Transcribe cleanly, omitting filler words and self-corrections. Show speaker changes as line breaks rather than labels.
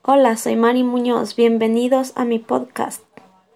Hola, soy Mari Muñoz. Bienvenidos a mi podcast.